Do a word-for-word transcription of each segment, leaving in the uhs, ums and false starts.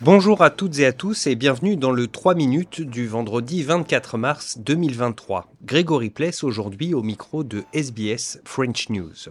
Bonjour à toutes et à tous et bienvenue dans le trois minutes du vendredi vingt-quatre mars deux mille vingt-trois. Grégory Pless aujourd'hui au micro de S B S French News.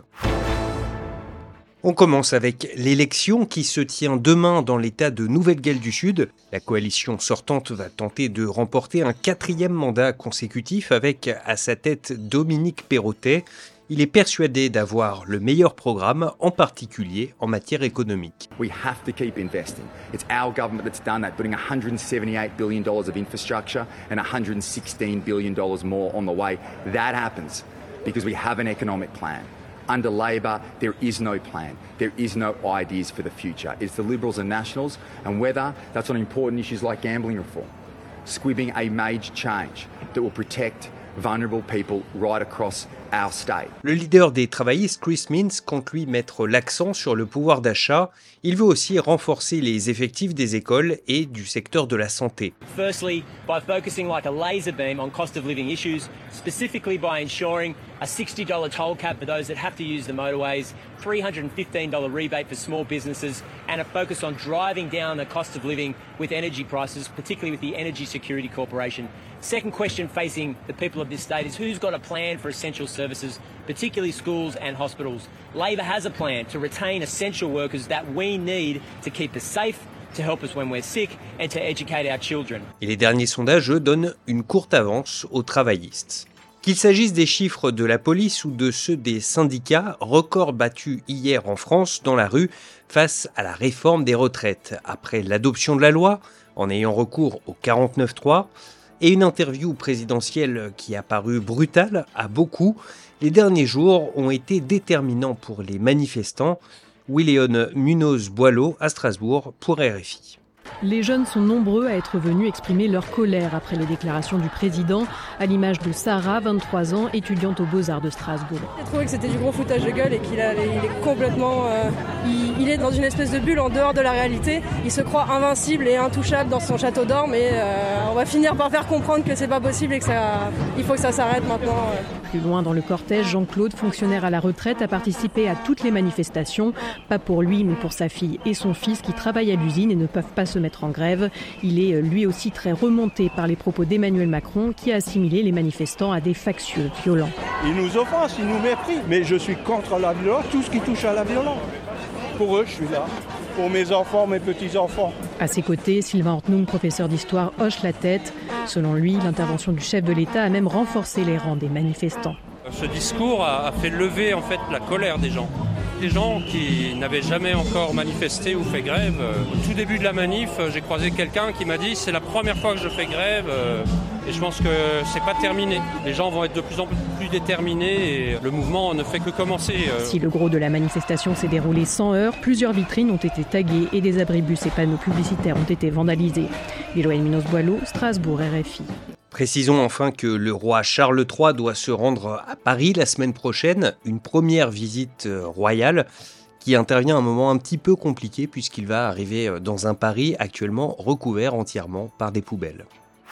On commence avec l'élection qui se tient demain dans l'État de Nouvelle-Galles du Sud. La coalition sortante va tenter de remporter un quatrième mandat consécutif avec à sa tête Dominique Perrottet. Il est persuadé d'avoir le meilleur programme, en particulier en matière économique. We have to keep investing. It's our government that's done that, putting one hundred seventy-eight billion dollars of infrastructure and one hundred sixteen billion dollars more on the way. That happens because we have an economic plan. Under Labor, there is no plan. There is no ideas for the future. It's the Liberals and Nationals, and whether that's on important issues like gambling reform, squibbing a major change that will protect vulnerable people right across our state. Le leader des travaillistes, Chris Minns, compte lui mettre l'accent sur le pouvoir d'achat. Il veut aussi renforcer les effectifs des écoles et du secteur de la santé. Firstly, by focusing like a laser beam on cost of living issues, specifically by ensuring a sixty dollars toll cap for those that have to use the motorways, three hundred fifteen dollars rebate for small businesses, and a focus on driving down the cost of living with energy prices, particularly with the Energy Security Corporation. Second question facing the people of this state is who's got a plan for essential services, particularly schools and hospitals. Labor has a plan to retain essential workers that we need to keep us safe, to help us when we're sick and to educate our children. Et les derniers sondages, eux, donnent une courte avance aux travaillistes. Qu'il s'agisse des chiffres de la police ou de ceux des syndicats, record battu hier en France dans la rue face à la réforme des retraites. Après l'adoption de la loi, en ayant recours au quarante-neuf trois, et une interview présidentielle qui a paru brutale à beaucoup, les derniers jours ont été déterminants pour les manifestants. Willéon Munoz-Boileau à Strasbourg pour R F I. Les jeunes sont nombreux à être venus exprimer leur colère après les déclarations du président, à l'image de Sarah, vingt-trois ans, étudiante aux Beaux-Arts de Strasbourg. J'ai trouvé que c'était du gros foutage de gueule et qu'il a, il est complètement... Euh, il, il est dans une espèce de bulle en dehors de la réalité. Il se croit invincible et intouchable dans son château d'or, mais euh, on va finir par faire comprendre que c'est pas possible et que ça, il faut que ça s'arrête maintenant. Plus loin dans le cortège, Jean-Claude, fonctionnaire à la retraite, a participé à toutes les manifestations. Pas pour lui, mais pour sa fille et son fils qui travaillent à l'usine et ne peuvent pas se mettre en grève. Il est lui aussi très remonté par les propos d'Emmanuel Macron qui a assimilé les manifestants à des factieux violents. Ils nous offensent, ils nous méprisent. Mais je suis contre la violence, tout ce qui touche à la violence. Pour eux, je suis là. Pour mes enfants, mes petits-enfants. À ses côtés, Sylvain Ortnoum, professeur d'histoire, hoche la tête. Selon lui, l'intervention du chef de l'État a même renforcé les rangs des manifestants. Ce discours a fait lever en fait la colère des gens. Des gens qui n'avaient jamais encore manifesté ou fait grève. Au tout début de la manif, j'ai croisé quelqu'un qui m'a dit « c'est la première fois que je fais grève et je pense que c'est pas terminé. Les gens vont être de plus en plus déterminés et le mouvement ne fait que commencer. » Si le gros de la manifestation s'est déroulé sans heurts, plusieurs vitrines ont été taguées et des abribus et panneaux publicitaires ont été vandalisés. Willéon Munoz-Boileau, Strasbourg, R F I. Précisons enfin que le roi Charles trois doit se rendre à Paris la semaine prochaine, une première visite royale qui intervient à un moment un petit peu compliqué puisqu'il va arriver dans un Paris actuellement recouvert entièrement par des poubelles.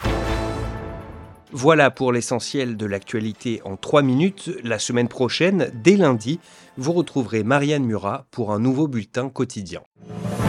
Voilà pour l'essentiel de l'actualité en trois minutes. La semaine prochaine, dès lundi, vous retrouverez Marianne Murat pour un nouveau bulletin quotidien.